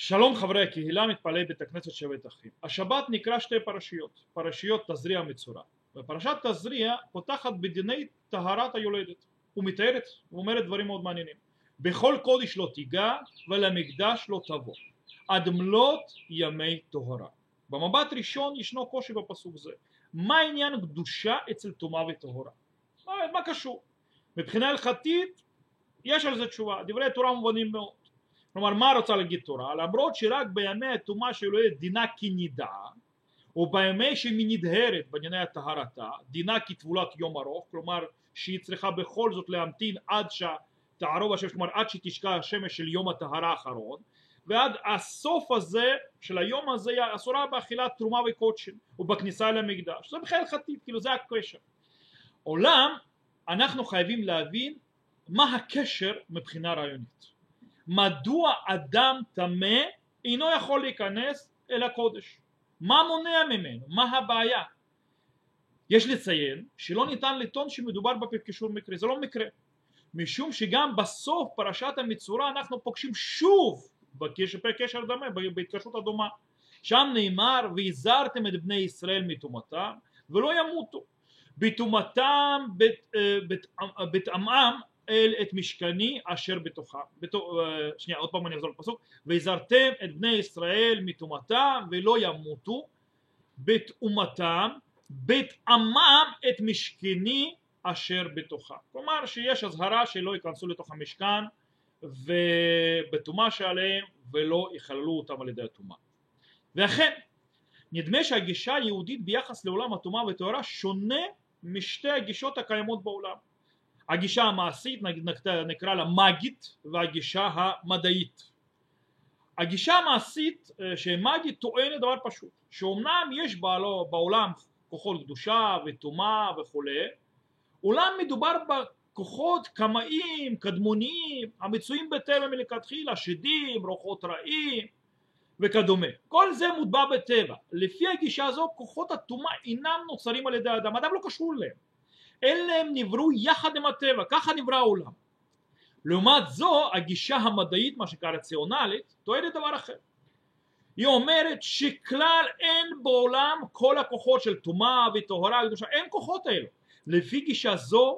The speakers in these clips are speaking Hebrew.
שלום חברי הקהילה, מתפללי בית הכנסת שבת אחים. השבת נקרא שתי פרשיות, פרשיות תזריע מצורע. ופרשת תזריע פותחת בדיני טהרת היולדת ומתארת ואומרת דברים מאוד מעניינים. בכל קודש לא תיגע ולמקדש לא תבוא עד מלאת ימי טהרה. במבט ראשון ישנו קושי בפסוק זה. מה עניין קדושה אצל טומאה וטהרה? מה קשור? מבחינה הלכתית יש על זה תשובה, דברי תורה מובנים מאוד. כלומר, מה רוצה להגיד תורה? למרות שרק בימי הטומאה של יולדת דינה כנידה, או בימי שהיא נדהרת בענייני הטהרתה, דינה כטבולת יום ארוך, כלומר שהיא צריכה בכל זאת להמתין עד שתערוב השמש, כלומר עד שתשקע השמש של יום הטהרה האחרון, ועד הסוף הזה של היום הזה היא אסורה באכילת תרומה וקודשין ובכניסה למקדש. זה בכלל הלכתית, כאילו זה הקשר. עולם אנחנו חייבים להבין מה הקשר מבחינה רעיונית. מדוע אדם טמא אינו יכול להיכנס אל הקודש? מה מונע ממנו? מה הבעיה? יש לציין שלא ניתן לטעון שמדובר בקישור מקרי, זה לא מקרה, משום שגם בסוף פרשת המצורע אנחנו פוגשים שוב בקשר דומה, בהתקשרות הדומה. שם נאמר והזהרתם את בני ישראל מטומאתם ולא ימותו, בטומאתם בטעמם אל את משכני אשר בתוכה. שנייה, עוד פעם אני אחזור לפסוק. והזהרתם את בני ישראל מטומאתם ולא ימותו, בטומאתם בטעמם את משכני אשר בתוכה. כלומר שיש הזהרה שלא ייכנסו לתוך המשכן ובטומאה שעליהם ולא יכללו אותם על ידי הטומאה. ואכן נדמה שהגישה היהודית ביחס לעולם הטומאה וטהרה שונה משתי הגישות הקיימות בעולם. הגישה המעשית נקרא לה מגית, והגישה המדעית. הגישה המעשית שמגית טוענת דבר פשוט, שאומנם יש בעולם כוחות קדושה וטומאה וכו', אולם מדובר בכוחות קמאיים, קדמוניים, המצויים בטבע מלכתחילה, שדים, רוחות רעים וכדומה. כל זה מוטבע בטבע. לפי הגישה הזו כוחות הטומאה אינם נוצרים על ידי האדם, האדם לא קשור להם, אלא הם נבראו יחד עם הטבע, ככה נברא העולם. לעומת זו הגישה המדעית, מה שקרה רציונלית, טוענת דבר אחר. היא אומרת שכלל אין בעולם כל הכוחות של טומאה וטהרה וקדושה, אין כוחות האלו. לפי גישה זו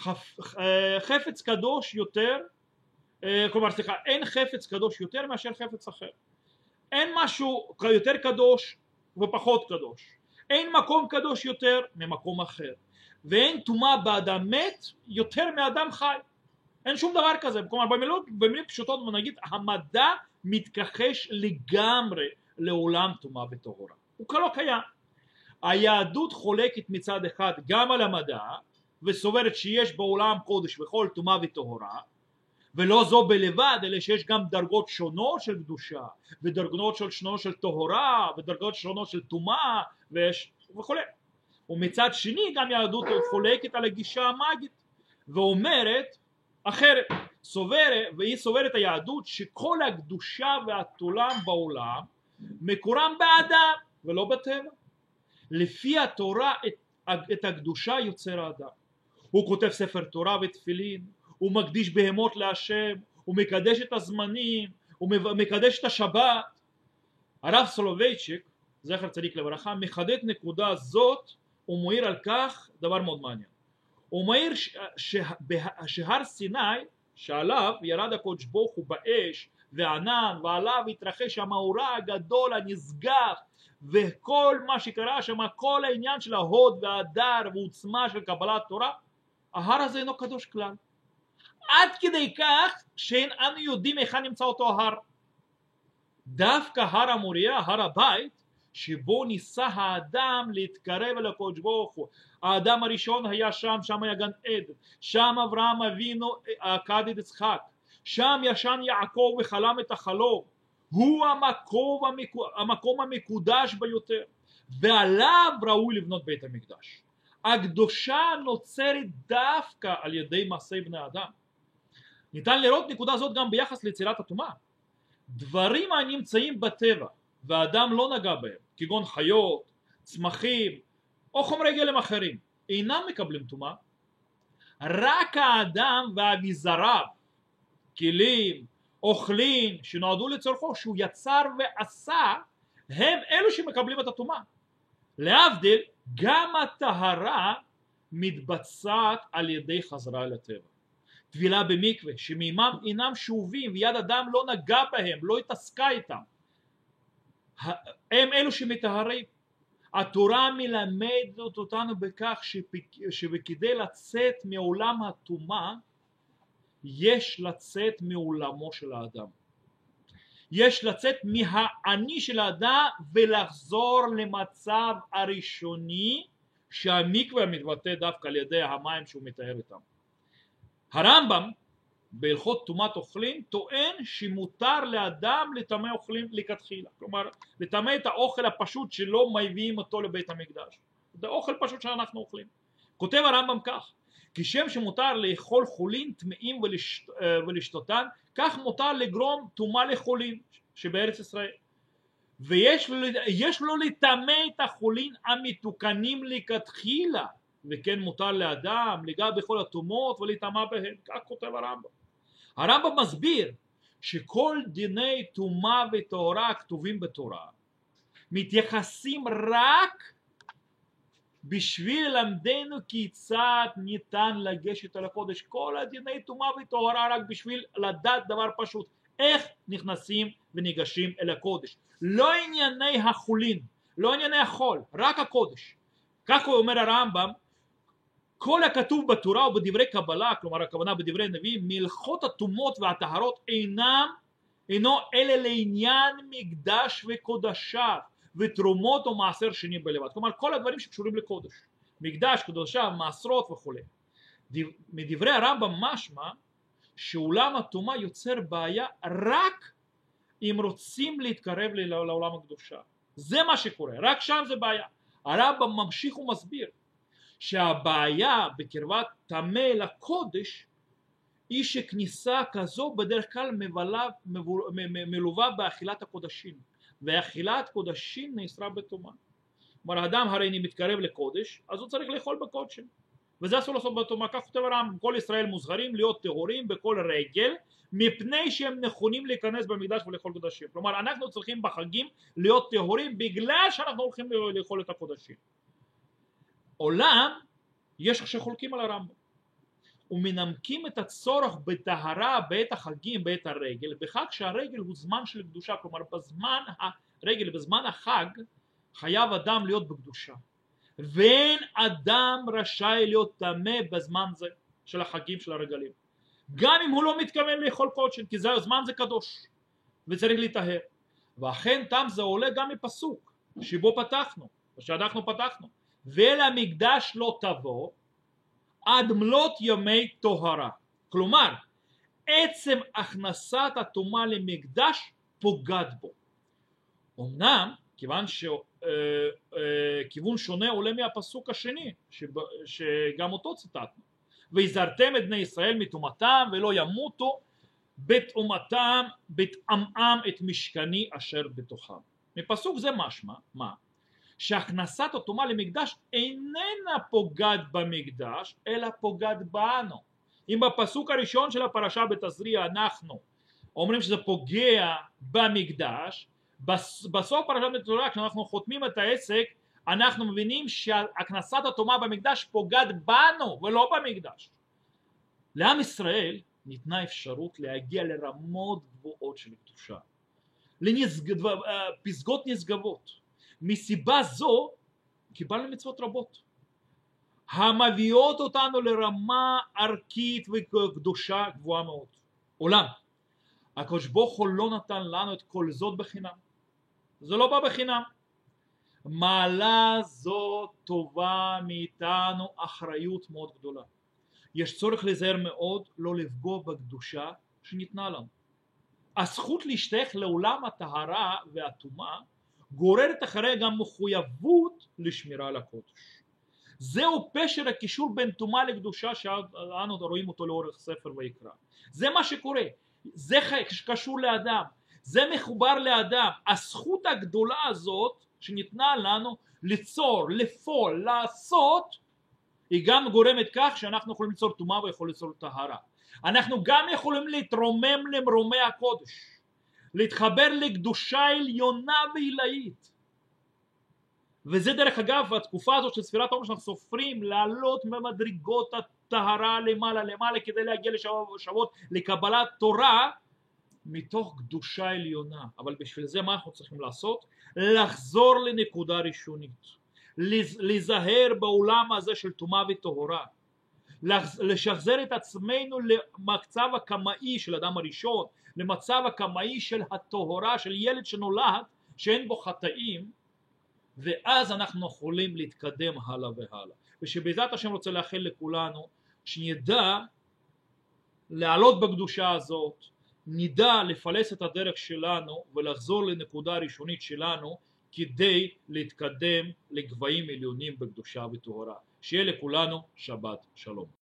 חפץ קדוש יותר, כלומר סליחה, אין חפץ קדוש יותר מאשר חפץ אחר. אין משהו יותר קדוש ופחות קדוש, אין מקום קדוש יותר ממקום אחר, ואין טומאה באדם מת יותר מאדם חי. אין שום דבר כזה. כלומר במילים פשוטות נגיד המדע מתכחש לגמרי לעולם טומאה וטהרה, הוא כלא קיים. היהדות חולקת מצד אחד גם על המדע וסוברת שיש בעולם קודש וכל טומאה וטהרה, ולא זו בלבד אלא שיש גם דרגות שונות של קדושה ודרגות שונות של טהרה ודרגות שונות של טומאה וכו'. ומצד שני גם יהדות חולקת על הגישה המאגית ואומרת אחרת, והיא סוברת היהדות שכל הקדושה והתולם בעולם מקורם באדם ולא בטבע. לפי התורה את הקדושה יוצר האדם. הוא כותב ספר תורה ותפילין, הוא מקדיש בהמות להשם, הוא מקדש את הזמנים, הוא מקדש את השבת. הרב סולובייצ'יק זכר צדיק לברכה מחדד נקודה זאת ומעיר על כך דבר מאוד מעניין. הוא מעיר שהר סיני שעליו ירד הקדוש ברוך הוא באש וענן ועליו התרחש המאורע הגדול הנשגב וכל מה שקרה שם, כל העניין של ההוד וההדר ועוצמה של קבלת תורה, ההר הזה אינו קדוש כלל, עד כדי כך שאין אנו יודעים היכן נמצא אותו ההר. דווקא הר המוריה, הר הבית שבו ניסה האדם להתקרב אל הקדוש ברוך הוא, האדם הראשון היה שם, שם היה גן עדן, שם אברהם אבינו עקד את יצחק, שם ישן יעקב וחלם את החלום, הוא המקום המקודש ביותר ועליו ראוי לבנות בית המקדש. הקדושה נוצרת דווקא על ידי מעשי בני אדם. ניתן לראות נקודה זאת גם ביחס ליצירת הטומאה. דברים הנמצאים בטבע והאדם לא נגע בהם, כגון חיות, צמחים או חומרי גלם אחרים, אינם מקבלים טומאה. רק האדם ואביזריו, כלים אוכלים שנועדו לצורכו, שהוא יצר ועשה, הם אלו שמקבלים את הטומאה. להבדיל, גם הטהרה מתבצעת על ידי חזרה לטבע. טבילה במקווה, שמימם אינם שאובים ויד אדם לא נגע בהם, לא התעסקה איתם, הם אלו שמטהרים. התורה מלמדת אותנו בכך שכדי לצאת מעולם הטומאה יש לצאת מעולמו של האדם, יש לצאת מהאני של האדם ולחזור למצב הראשוני שהמקווה מתבטא דווקא על ידי המים שהוא מתאר איתם. הרמב"ם בהלכות טומאת אוכלים טוען שמותר לאדם לטמא אוכלים לכתחילה, כלומר לטמא את האוכל הפשוט שלא מביאים אותו לבית המקדש, זה אוכל פשוט שאנחנו אוכלים. כותב הרמב"ם כך: כשם שמותר לאכול חולין טמאים ולשתותן, כך מותר לגרום טומאה לחולין שבארץ ישראל, ויש לו לטמא את החולין המתוקנים לכתחילה, וכן מותר לאדם לגע בכל הטומאות ולטמא בהם, כך כותב הרמב"ם. הרמב"ם מסביר שכל דיני טומאה וטהרה הכתובים בתורה מתייחסים רק בשביל ללמדנו כיצד ניתן לגשת אל הקודש. כל הדיני טומאה וטהרה רק בשביל לדעת דבר פשוט, איך נכנסים וניגשים אל הקודש. לא ענייני החולין, לא ענייני החול, רק הקודש. כך הוא אומר הרמב"ם, כל הכתוב בתורה ובדברי קבלה, כלומר הכוונה בדברי נביאים, מלכות הטומאות והטהרות אינו אלא לעניין מקדש וקודשיו ותרומות או מעשר שני בלבד. כלומר כל הדברים שקשורים לקודש, מקדש, קודשיו, מעשרות וכו'. מדברי הרמב"ם משמע שעולם הטומאה יוצר בעיה רק אם רוצים להתקרב לעולם הקדושה. זה מה שקורה, רק שם זה בעיה. הרמב"ם ממשיך ומסביר שהבעיה בקרבת טמא לקודש היא שכניסה כזו בדרך כלל מלווה באכילת הקודשים, ואכילת קודשים נאסרה בטומאה. כלומר האדם הרי אם מתקרב לקודש אז הוא צריך לאכול בקודשים, וזה אסור לעשות בטומאה. כך כותב הרמב"ם, כל ישראל מוזהרים להיות טהורים בכל רגל מפני שהם נכונים להיכנס במקדש ולאכול קודשים. כלומר אנחנו צריכים בחגים להיות טהורים בגלל שאנחנו הולכים לאכול את הקודשים. עולם יש שחולקים על הרמב"ם ומנמקים את הצורך בטהרה בעת החגים, בעת הרגל, בכך שהרגל הוא זמן של קדושה. כלומר בזמן הרגל, בזמן החג, חייב אדם להיות בקדושה, ואין אדם רשאי להיות טמא בזמן זה של החגים של הרגלים, גם אם הוא לא מתכוון לאכול קודשים, כי הזמן זה קדוש וצריך להיטהר. ואכן טעם זה עולה גם מפסוק שבו פתחנו, שאנחנו פתחנו, ואל המקדש לא תבוא עד מלאת ימי טהרה. כלומר עצם הכנסת הטומאה למקדש פוגעת בו. אמנם כיוון שכיוון שונה עולה מהפסוק השני שגם אותו ציטטנו, והזהרתם את בני ישראל מטומאתם ולא ימותו בטומאתם בטמאם את משכני אשר בתוכם. מפסוק זה משמע מה? שהכנסת הטומאה למקדש איננה פוגעת במקדש אלא פוגעת בנו. אם בפסוק הראשון של הפרשה בתזריע אנחנו אומרים שזה פוגע במקדש, בסוף פרשת בתזריע כשאנחנו חותמים את העסק אנחנו מבינים שהכנסת הטומאה במקדש פוגעת בנו ולא במקדש. לעם ישראל ניתנה אפשרות להגיע לרמות גבוהות של קדושה, פסגות נשגבות. מסיבה זו קיבלנו מצוות רבות המביאות אותנו לרמה ערכית וקדושה גבוהה מאוד. אולם הקדוש ברוך הוא לא נתן לנו את כל זאת בחינם, זה לא בא בחינם. מעלה זו טובה מאיתנו אחריות מאוד גדולה. יש צורך להיזהר מאוד לא לפגוע בקדושה שניתנה לנו. הזכות להשתייך לעולם הטהרה והטומאה גוררת אחריה גם מחויבות לשמירה על הקודש. זהו פשר הקישור בין טומאה לקדושה שאנו רואים אותו לאורך ספר ויקרא. זה מה שקורה, זה קשור לאדם, זה מחובר לאדם. הזכות הגדולה הזאת שניתנה לנו ליצור, לפעול, לעשות, היא גם גורמת כך שאנחנו יכולים ליצור טומאה ויכולים ליצור טהרה. אנחנו גם יכולים להתרומם למרומי הקודש, להתחבר לקדושה עליונה ועילאית. וזה דרך אגב התקופה הזאת של ספירת העומר שאנחנו סופרים לעלות ממדרגות הטהרה למעלה למעלה כדי להגיע לשבות לקבלת תורה מתוך קדושה עליונה. אבל בשביל זה מה אנחנו צריכים לעשות? לחזור לנקודה ראשונית, להיזהר בעולם הזה של טומאה וטהרה, לשחזר את עצמנו למצב הקמאי של אדם הראשון, למצב הקמאי של הטהרה, של ילד שנולד שאין בו חטאים, ואז אנחנו יכולים להתקדם הלאה והלאה. ושבעזרת השם רוצה לאחל לכולנו שנדע לעלות בקדושה הזאת, נדע לפלס את הדרך שלנו ולחזור לנקודה הראשונית שלנו כדי להתקדם לגבהים עליונים בקדושה וטהרה. שיהיה לכולנו שבת שלום.